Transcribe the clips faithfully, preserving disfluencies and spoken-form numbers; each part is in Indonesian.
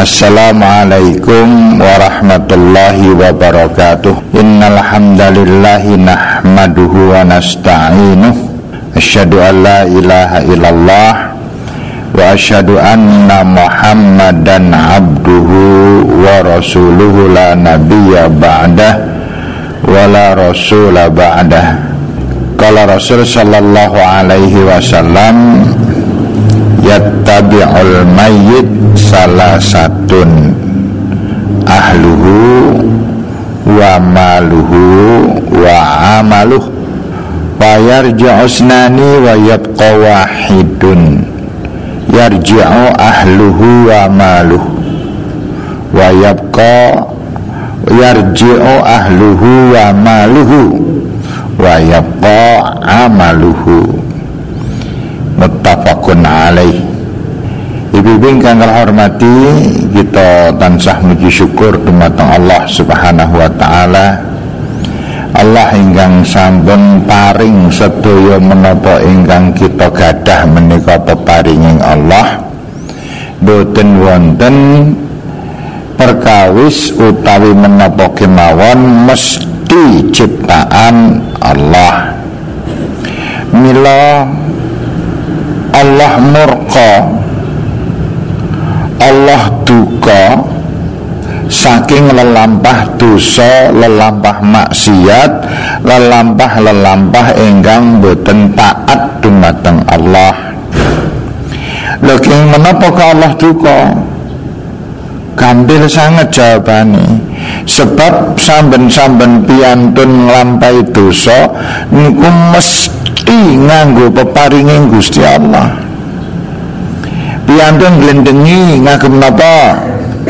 Assalamualaikum warahmatullahi wabarakatuh. Innal hamdalillahi nahmaduhu wa nasta'inuh. Asyhadu an la ilaha illallah wa asyhadu anna Muhammadan abduhu wa rasuluhu la nabiyya ba'dah wa la rasula ba'dah. Qala Rasul sallallahu alaihi wasallam, yattabi'ul mayyit salasatun ahluhu wa maluhu wa amaluh wa yarji'u usnani wa yabqa wahidun. Yarji'u ahluhu wa maluhu wa yabqa yarji'u ahluhu wa maluhu wa yabqa amaluhu. Muttafaqun alaih. Ibu-ibu ingkang hormati, kita tansah muji syukur dumateng Allah Subhanahu wa taala. Allah ingkang sampun paring sedaya menapa ingkang kita gadah menika peparinging Allah. Boten wonten perkawis utawi menapa kemawon mesti ciptaan Allah. Mila Allah murka, Allah duka saking lelampah dosa, lelampah maksiat, lelampah-lelampah ingkang boten taat dumateng Allah. Lha king menapa ka Allah duka? Gampil sanget jawabane. Sebab samben-samben piyantun nglampahi dosa niku mesti nganggo peparinging Gusti Allah. Piyantun glendengi ngagem napa?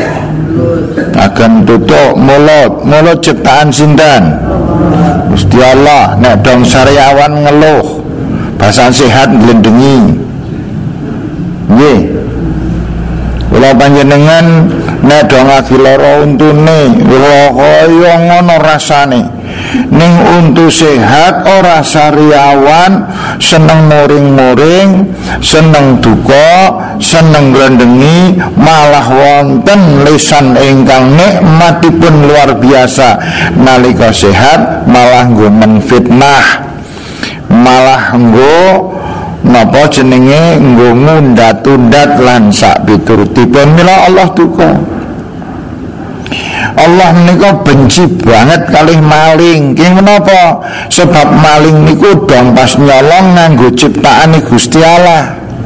Agem tutuk mulut, mulut ciptaan sinten? Gusti Allah. Nek dong sariawan ngeluh, basa sehat glendengi. Nggih. Kula panjenengan nek dong lagi lara untune, kaya ngono rasane. Ning untu sehat ora sariawan, seneng muring-muring, seneng duka, seneng glendengi, malah wonten lisan ingkang nikmatipun luar biasa. Nalika sehat malah nggo menfitnah, malah nggo napa jenenge nggo ngundat-undat lan sak piturutipun. Mila Allah duka. Allah menika benci banget kalih maling. Ki menapa? Sebab maling niku dong pas nyolong nganggo ciptaane Gusti Allah.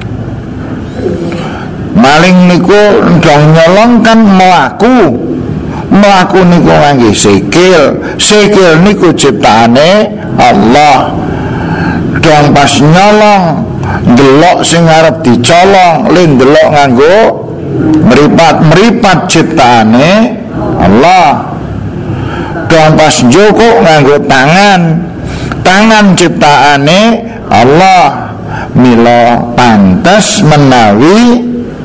Maling niku dong nyolong kan mlaku. Mlaku niku ngangge sikil. Sikil niku ciptaane Allah. Dong pas nyolong ndelok sing arep dicolong, le ndelok nganggo meripat-meripat ciptaane Allah. Dan pas njoko nganggo tangan, tangan ciptaane Allah. Mila pantes menawi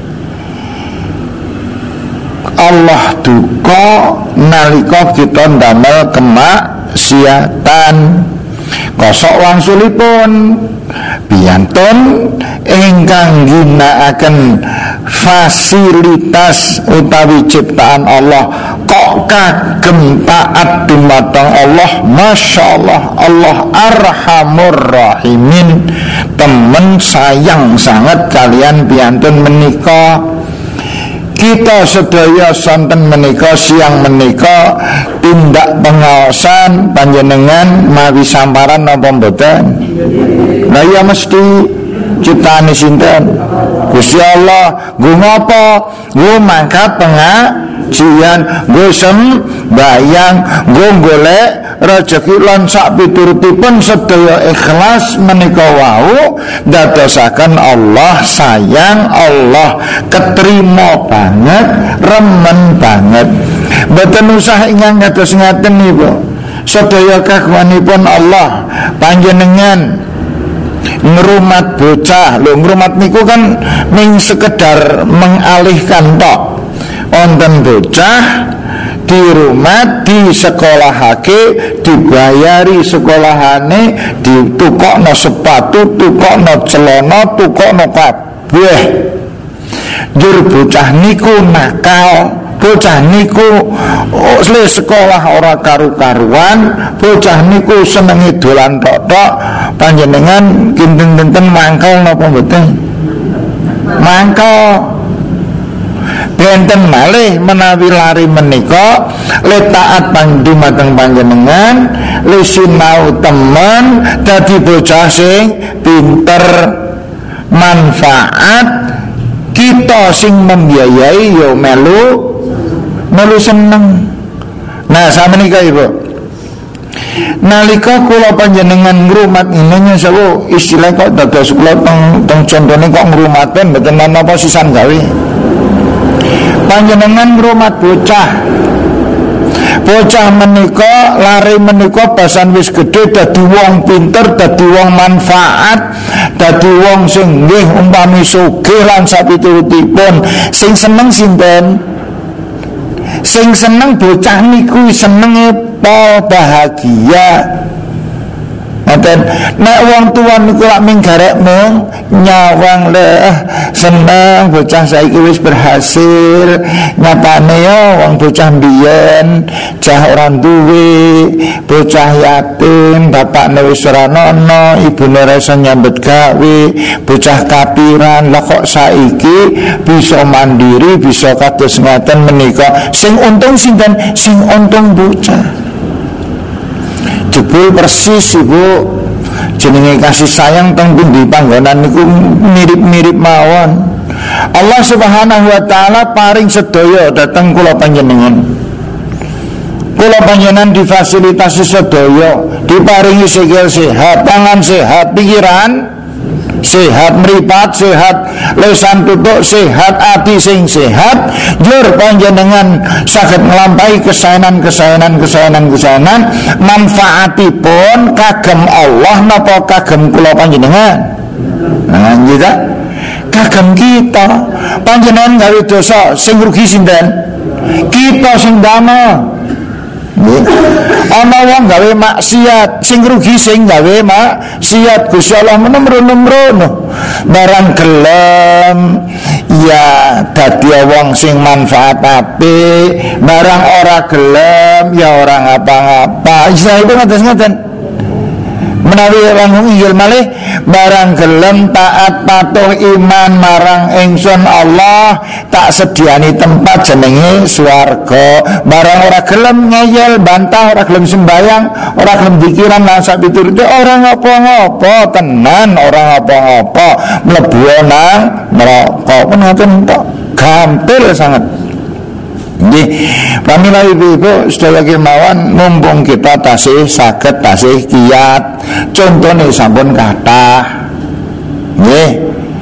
Allah duka nalika kita ndamel kemaksiatan. Kosok wangsulipun piyantun ingkang ginakaken fasilitas utawi ciptaan Allah kok kagem taat dumateng Allah. Masya Allah, Allah arhamur rahimin. Temen sayang sangat kalian piyantun menika. Kita sedaya sonten menika siang menika tindak pengaosan panjenengan mawi samparan napa mboten? Lah ya mesti ciptaane sinten? Gusti Allah. Nggo ngapa? Nggo mangkat pengajian, nggo sembayang, nggo golek rejeki lan sak piturutipun sedaya ikhlas menika wau dadosaken Allah sayang, Allah ketrima banget, remen banget. Mboten usah ingkang kados ngaten niku. Sedaya kagunganipun Allah panjenengan ngrumat bocah. Lho ngrumat niku kan ming sekedar mengalihkan tok. Wonten bocah di rumah disekolahake, dibayari sekolahane, ditukokno sepatu, tukokno celana, tukokno kabeh. Jur bocah niku nakal, bocah niku oh, sekolah ora karu-karuan, bocah niku senengi dolan tok-tok, panjenengan kinten-kinten mangkel napa mboten? Mangkel. Benten malih menawi lari menika le taat dumateng panjenengan, le sinau temen dadi bocah sing pinter, manfaat kita sing membiayai yo melu melu seneng. Nah samenika Ibu, nalika kula panjenengan ngrumat inene sawu istilah kok dados kula teng teng contone kok ngrumaten mboten napa sisan gawe. Panjenengan ngrumat bocah, bocah menika lari menika basan wis gedhe dadi wong pinter, dadi wong manfaat, dadi wong sing nggih umpami sugih lan sapiturutipun. Sing seneng sinten? Sing seneng bocah niku senenge pol bahagia. Ngaten nek wong tuwa niku lak minggarek mung nyawang le seneng bocah saiki wis berhasil, nyatane yo wong bocah mbiyen cah ora duwe, bocah yatim, bapakne wis ora ana, ibune ora iso nyambet gawe, bocah kapiran. Lah kok saiki bisa mandiri, bisa kados ngaten menika. Sing untung sinten? Sing untung bocah. Jebul persis Ibu jenenge kasih sayang teng pundi panggonan niku mirip-mirip mawon. Allah Subhanahu wa taala paring sedaya dhateng kula panjenengan. Kula panjenengan difasilitasi sedaya, diparingi sikil sehat, tangan sehat, pikiran sehat, mripat sehat, lesan tutuk sehat, ati sing sehat. Jur panjenengan saged nglampahi kesaenan-kesaenan kesaenan-kesaenan manfaatipun kagem Allah napa kagem kula panjenengan. Nah kita kagem kita. Panjenengan gawe dosa sing rugi sinten? Kita sing damel. Ana wong gawe maksiat sing rugi sing gawe maksiat. Gusti Allah menemrono barang gelem ya dadi wong sing manfaat apik, barang ora gelem ya ora ngapa-ngapa. Isa itu ngaten-ngaten. Menawi orang inggil malih barang gelem taat patuh iman marang ingsun Allah tak sediani tempat jenenge swarga. Barang ora gelem ngeyel bantah, ora gelem sembayang, ora gelem dikiran lan sak piturute ora ngapa-ngapa tenan, ora ngapa-ngapa mlebu nang neraka. Menawi tok gampil sangat. Nggih, pamila ibu-ibu sedaya kemawon mumpung kita tasih saged tasih kiat. Contone sampun kathah. Nggih.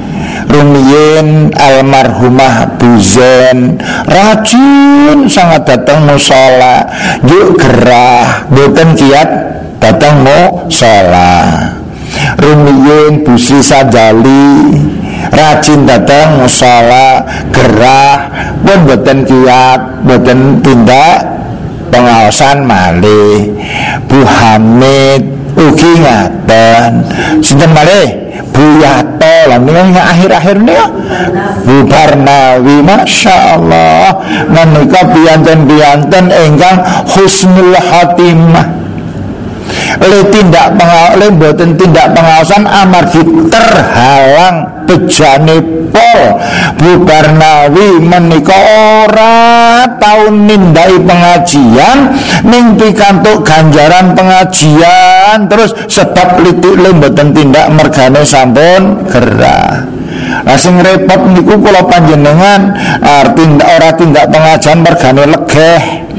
Rumiyin almarhumah Buzen rajin sangat datang musala, yuk gerah boten kiat datang musala. Rumiyin Bu Sri Sajali rajin datang musala, gerah pun boten kiat, boten tindak pengawasan malih. Bu Hamid ugi ngaten, sinten malih Bu Yato lah menika akhir-akhir niku Bu Barnawi, masya Allah menika piyanten-piyanten ingkang husnul khatimah. Le tindak pengawasan, boten tindak pengawasan amargi terhalang bejane pol. Bu Barnawi menika ora tau nindai pengajian ning pikantuk ganjaran pengajian terus sebab litik le boten tindak mergane sampun gerah. Lah sing repot niku kula panjenengan arti ora tindak pengajian mergane legeh.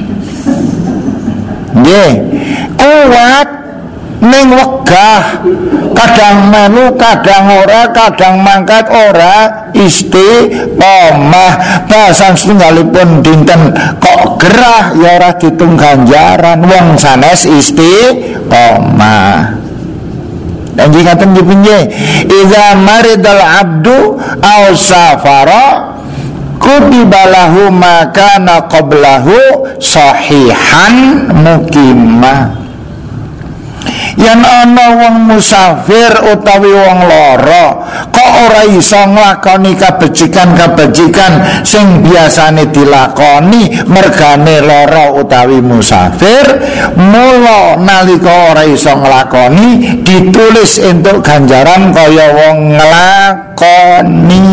Nggih, kuat ning wegah, kadang melu, kadang ora, kadang mangkat ora, istiqomah. Basan setunggalipun dinten kok gerah ya ora ditung ganjaran, wong sanes istiqomah. Dan jika tentunya idza maridal abdu aw safara kutibalahu makana qablahu sahihan mukimah. yen ana wong musafir utawi wong lara kok ora iso nglakoni kabecikan-kabecikan sing biasane dilakoni mergane lara utawi musafir, mula nalika ora iso nglakoni ditulis entuk ganjaran kaya wong nglakoni.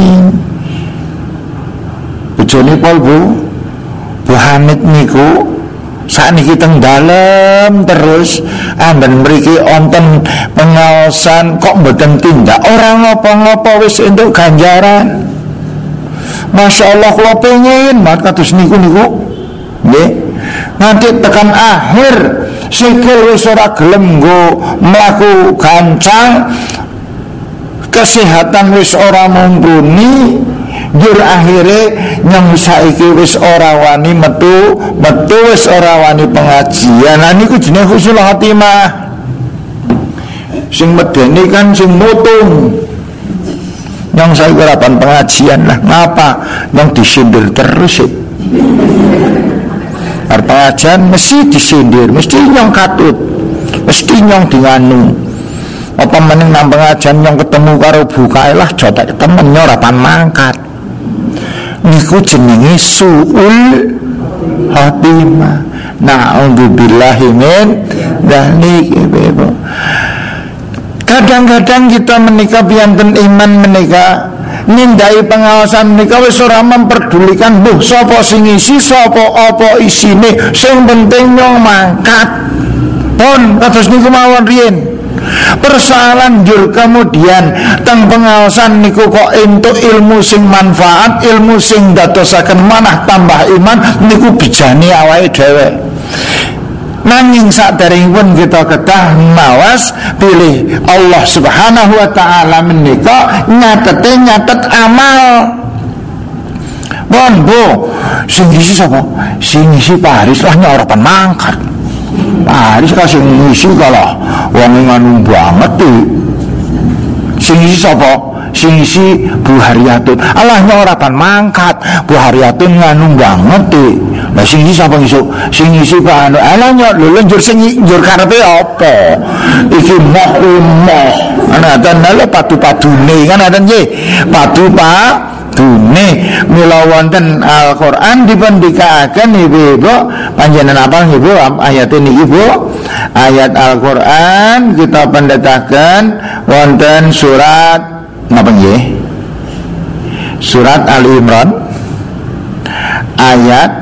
Bojone pol Bu Bu Hamid niku sakniki teng dalem terus amben mriki wonten pengaosan kok mboten tindak ora ngapa-ngapa wis entuk ganjaran. Masya Allah kula pengen banget kados niku niku nggih. Nanti tekan akhir sikil wis ora gelem nggo mlaku gancang, kesehatan wis ora mumpuni, jur akhire nyong saiki wis ora wani metu metu wis ora wani pengajian. Lah niku jenenge husnul khotimah. Sing medeni kan sing mutung. Nyong saiki ora pan pengajian lah. Ngapa? Nyong disindir terus sih. Arep pengajian mesti disindir, mesti nyong katut, mesti nyong dianu. Apa meneng nang pengajian nyong ketemu karo bukae lah jotek temen ora pan mangkat. Niku jenenge suul khotimah. Na'udzubillahi min dzalik. Kadang-kadang kita menikah biyanten iman menikah nindai pengawasan menikah wis ora memperdulikan buh sapa sing isi sapa apa isine, sing penting nyong mangkat. Pun kados niku mawon riyen. Persoalan jur kemudian teng pengawasan niku kok entuk ilmu sing manfaat, ilmu sing dadosaken manah tambah iman niku bijane awake dhewe. Nanging saderengipun kita kedah mawas pilih Allah Subhanahu wa taala menika nyatete nyatet amal. Bon Bu, sing isi sapa? Sing isi Pak Haris lah ora pan mangkat. Pak Haris ka sing isi kalah wong nganu banget iki. Sing isi sapa? Sing isi Bu Haryatun. Allah ora pan mangkat. Bu Haryatun nganu banget iki. Lah sing isi sapa iso? Sing isi Pak anu. Ala nyok lho njur sing njur karepe apa? Iki moh moh. Ana danale padu-padune kan ada nggih. Padu Pak dune mila wonten Al-Qur'an dipendikaken Ibu panjenengan apa Ibu ayat niki Bu? Ayat Al-Qur'an kita pendetaken wonten surat napa nggih? Surat Ali Imran ayat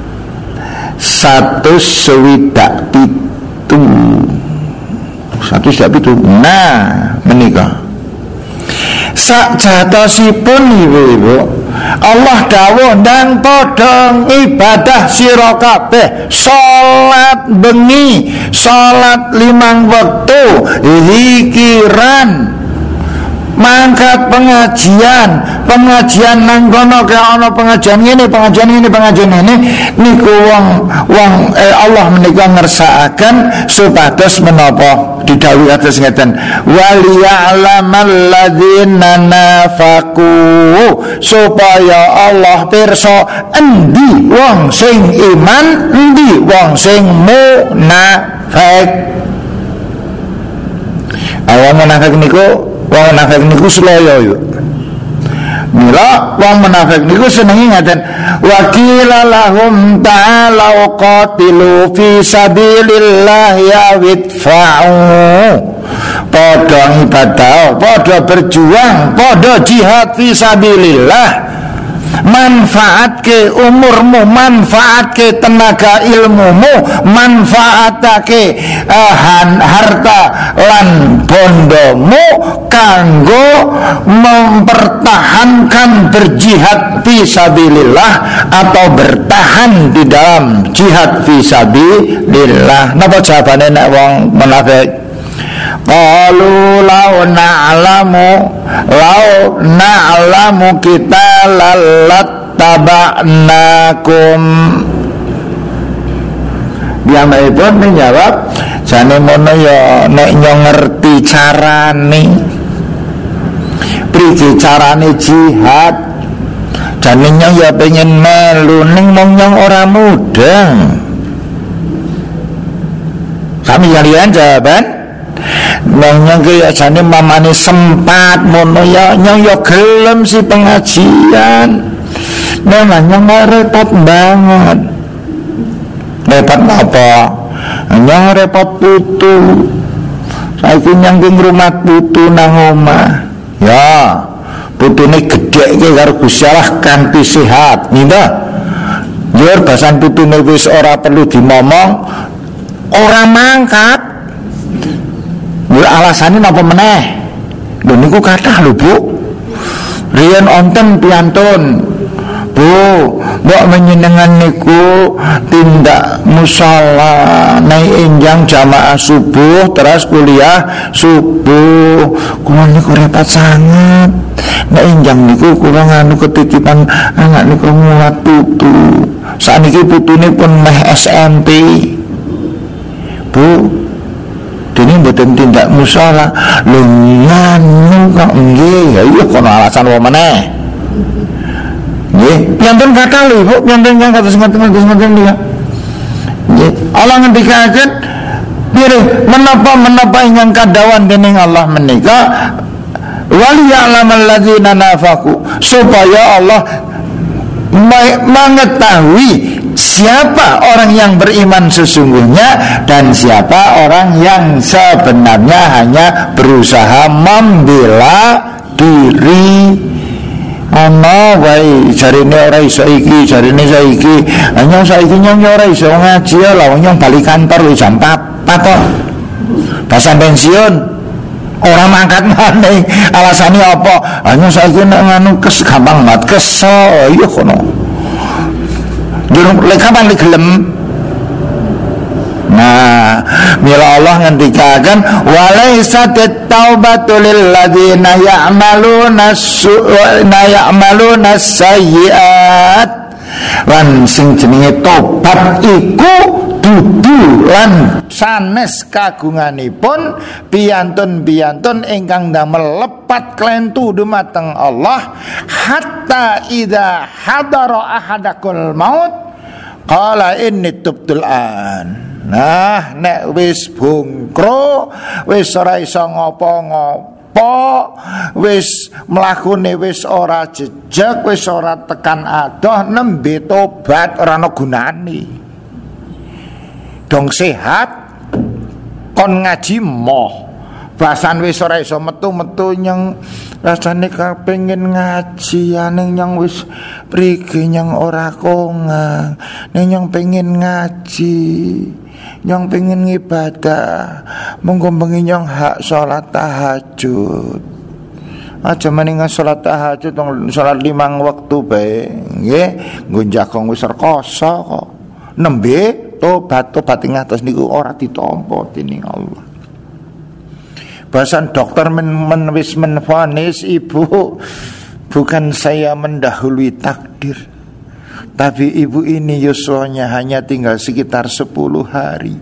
satu swidak pitu satu swidak pitu. Nah menika sak jatosipun ibu-ibu Allah dawuh dan podong ibadah sira kabeh salat bengi salat limang wektu zikiran mangkat pengajian pengajian nang kono kaya ana pengajian ngene pengajian ngene pengajian ngene niku wong wong eh, Allah menika ngersakaken supados menapa didhawuhi atus ngeten waliya'lamal ladzina nafaqu supaya Allah pirsa endi wong sing iman endi wong sing munafik. Awang munafik niku wong munafik niku sloyo yo. Mila wong munafik niku senengi ngaten wa qila lahum ta'alu qatilu fi sabilillah ya widfa'u. Padha ibadah, padha berjuang, padha jihad fi sabilillah. Manfaatke umurmu, manfaatke tenaga ilmumu, manfaatake uh, harta lan bondomu kanggo mempertahankan berjihad fisabilillah atau bertahan di dalam jihad fisabilillah. Napa jawabane nek wong munafik? Qalu law na'lamu law na'lamu kita lalat taba'nakum. Piyambakipun menjawab jane mono ya nek nyong ngerti carane priki carane jihad jane nyong ya pengen melu ning mong nyong ora mudeng. Kami kalian jawaban Nang nyang kaya jane mamane sempat mono ya nyang ya gelem si pengajian. Memang nyang repot banget. Repot apa? Nyang repot putu. Saiki nyang ki ngrumat putu nang omah. Ya, putune gedhe iki karo Gusti Allah kanthi sehat, nggih. Yer basan putune wis ora perlu dimomong, ora mangkat. Lha alasane napa meneh? Lho niku kathah lho, Bu. Riyen onten piantun. Bu, mbok menyenengan niku tindak musala naik enjang jamaah subuh terus kuliah subuh. Kula niku repot sangat. Nek enjang niku kula nganu ketitipan anak niku mulat putu. Saniki putune pun meh S M P. Bu, dene mboten tindak musala. Lho nganu kok nggih, ya iya kono alasan apa meneh. Nggih, piantun kata lho, Bu, piantun kang kados ngoten-ngoten niku. Nggih, Allah ngendikaken pilih menapa-menapa ingkang kadawan dening Allah menika wal ya'lamal ladzina nafaqu, supaya Allah mengetahui siapa orang yang beriman sesungguhnya dan siapa orang yang sebenarnya hanya berusaha membela diri. Ana wae jarine ora iso iki, jarine saiki hanya saiki nyong ora iso ngaji lha nyong bali kantor wis jam empat kok. Pas pensiun ora mangkat maneh. Alasane apa? Hanya saiki nek nganu kes gampang banget kesel ya kono. Jurung lek kapan lek gelem. Nah, mila Allah ngendikaken walaisa taubatu lil ladzina ya'maluna su'a ya'maluna sayyi'at. Lan sing jenenge tobat iku dudu lan sanes kagunganipun piantun-piantun ingkang damel lepat klentu dumateng Allah hatta idza hadara ahadakul maut qala inni tubtul an. Nah, nek wis bungkro, wis ora iso ngopo-ngopo, wis mlakune wis ora jejeg, wis ora tekan adoh, nembe tobat ora ana gunane. Dong sehat kon ngaji moh. Basan wis ora iso metu-metu nyang rasane kepengin ngaji aning nyang wis prigi nyang ora kongang. Ning nyang pengen ngaji, nyong pengen ngibadah, monggo bengi nyong hak salat tahajud. Aja meningan salat tahajud tong salat limang waktu bae, nggih. Nggo jagong wis rekoso kok. Nembe tobat-tobat ing atus niku ora ditampa dening Allah. Bahasan dokter men, men wis menvonis ibu, bukan saya mendahului takdir, tapi ibu ini yuswanya hanya tinggal sekitar sepuluh hari.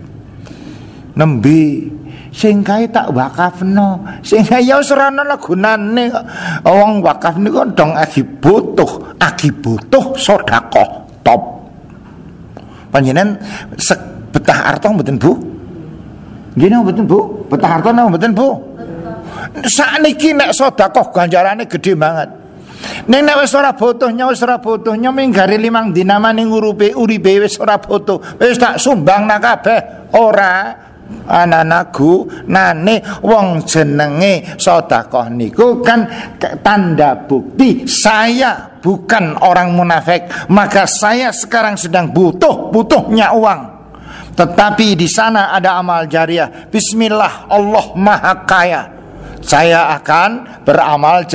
Nembe sing kae tak wakafno, sing ya wis ora ana gunane kok. Wong wakaf niku dong agi butuh, agi butuh sedekah top. Panjenengan betah arta mboten Bu? Nggih napa mboten Bu? Betah arta napa mboten Bu? Sakniki nek sedekah ganjarane gedhe banget. Ning nek wis ora butuhnya wis ora butuhnya minggari limang dina maning uripe uripe wis ora butuh. Wis tak sumbang nak kabeh. Ora anak-anakku nane wong jenenge sedekah niku kan tanda bukti saya bukan orang munafik, maka saya sekarang sedang butuh butuhnya uang. Tetapi di sana ada amal jariah. Bismillah, Allah Maha Kaya. Saya akan beramal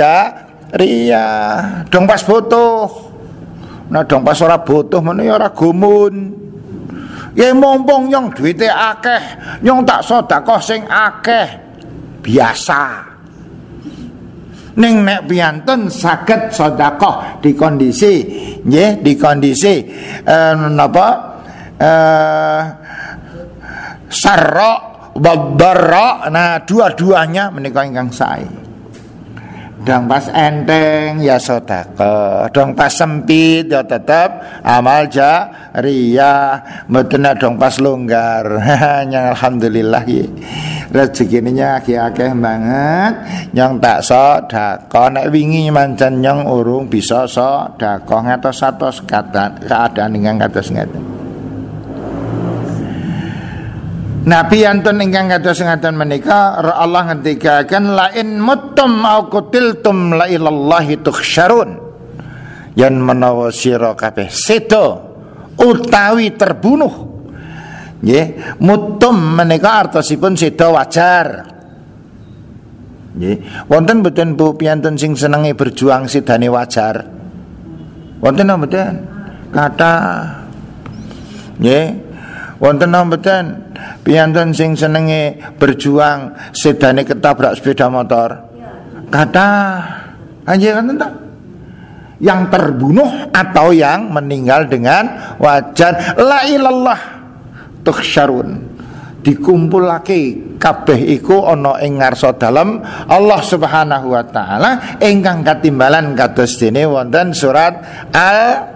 jariah. Dong pas butuh. Nah dong pas ora butuh men ya ora gumun. Ya mumpung nyong duwite akeh, nyong tak sedekah sing akeh. Biasa. Ning nek piantun saged sedekah di kondisi nggih, di kondisi eh, napa? Eh sarra wa dharra. Nah, dua-duanya menika ingkang sae. dong pas enteng ya sedekah, dong pas sempit ya tetap amal jariyah, mboten dong pas longgar. Yang alhamdulillah ya rezekine akeh-akeh banget yang tak sedekah. Nek wingi mancen yang urung bisa sedekah ngatos-atos keadaan ingkang kados ngeten. Nabi antun ingkang kados ngaten menika Allah ngendikaken lain muttum au qutiltum la ilallahi tuhsyarun. Yen menawa sira kabeh seda utawi terbunuh. Nggih, muttum menika artosipun seda wajar. Nggih, wonten mboten Bu piyantun sing senenge berjuang sedane wajar? Wonten napa mboten? Kathah. Nggih. Wonten napa mboten piyantun sing senenge berjuang sedane ketabrak sepeda motor? Kathah. Anjir wonten ta? Yang terbunuh atau yang meninggal dengan wajar. La ilallah tuhsyarun. Dikumpulake kabeh iku ana ing ngarsa dalem Allah Subhanahu wa taala ingkang katimbalan kados dene wonten surat Al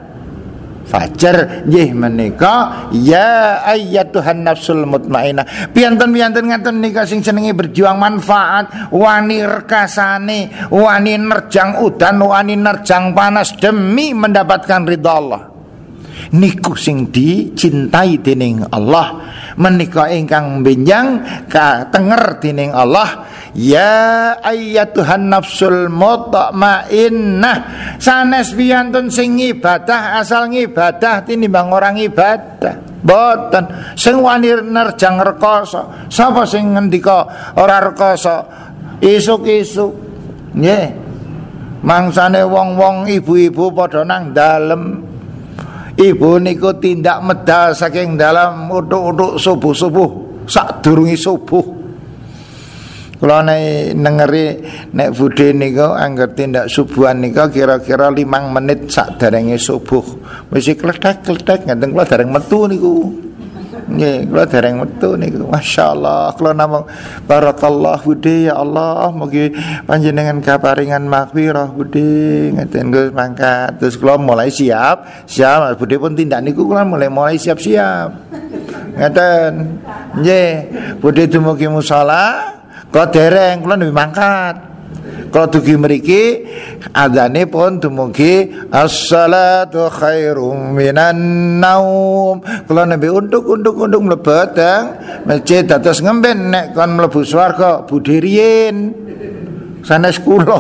Fajar nggih menika ya ayyatuhan nafsul mutmainnah. Piyanten-piyanten ngaten nika sing senenge berjuang manfaat, wani rekasane, wani nerjang udan, wani nerjang panas demi mendapatkan ridha Allah. Niku sing dicintai dening Allah, menika ingkang benjang katenger dening Allah. Ya ayyatuhan nafsul mutmainnah. Sanes piyantun sing ibadah asal ngibadah tinimbang orang ibadah. Boten sing wani nerjang rekoso. Sapa sing ngendika ora rekoso? Isuk-isuk. Nggih. Mangsane wong-wong ibu-ibu padha nang dalem. Ibu niku tindak medal saking dalam utuk-utuk subuh-subuh sadurunge subuh. Kula nek nengeri nek budhe niku angger tindak subuhan niku kira-kira limang menit sakderenge subuh. Wis kletek-kletek ngenten kula dereng metu niku. Nggih, kula dereng metu niku. Masyaallah, kula namung barakallah budhe ya Allah, mugi panjenengan kaparingan maghfirah budhe ngeten Gus mangkat. Terus kula mulai siap, siap budhe pun tindak niku kula mulai mulai siap-siap. Ngeten. Nggih, budhe dumugi musala kok dereng kula nembe mangkat. Kula dugi mriki adzane pun dumugi as-salatu khairum minan naum. Kula nembe unduk-unduk-unduk mlebet teng masjid dados ngemben nek kon mlebu swarga budhe riyin. Sanes kula.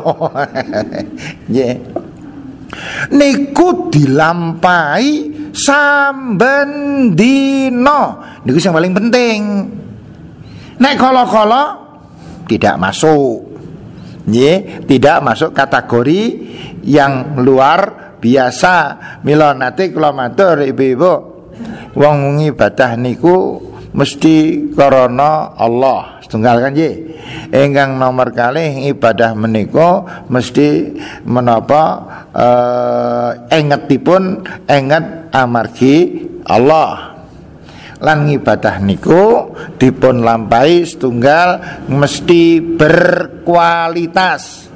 Nggih. Niku dilampahi samben dina. Niku sing paling penting. Nek kala-kala tidak masuk, ye, tidak masuk kategori yang luar biasa. Mila nate kula matur ibu-ibu, wong ibadah niku mesti karena Allah setunggal kan ye. Ingkang nomor kalih ibadah menika mesti menapa eh, engetipun enget amargi Allah. Lan ibadah niku dipun lampahi setunggal mesti berkualitas.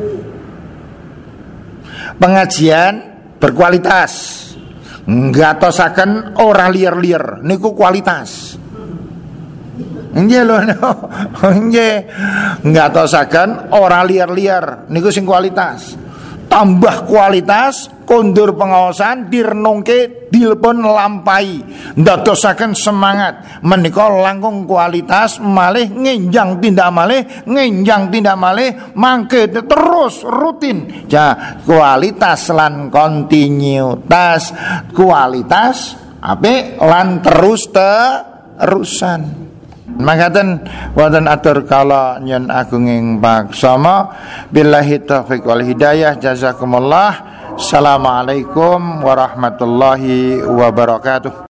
Pengajian berkualitas. Ngatosaken ora liar-liar niku kualitas. Nggih lho, nggih. Ngatosaken ora liar-liar niku sing kualitas. Tambah kualitas, kondur pengawasan, direnungke, dilpun lampai, ndadosaken semangat, menika langkung kualitas, malih ngenjang tindak malih, ngenjang tindak malih, mangke terus rutin. Ja, kualitas lan kontinuitas, kualitas apik lan terus terusan. Mangkaten wonten atur kala nyen agunging paksama billahi taufiq wal hidayah jazakumullah. Assalamualaikum warahmatullahi wabarakatuh.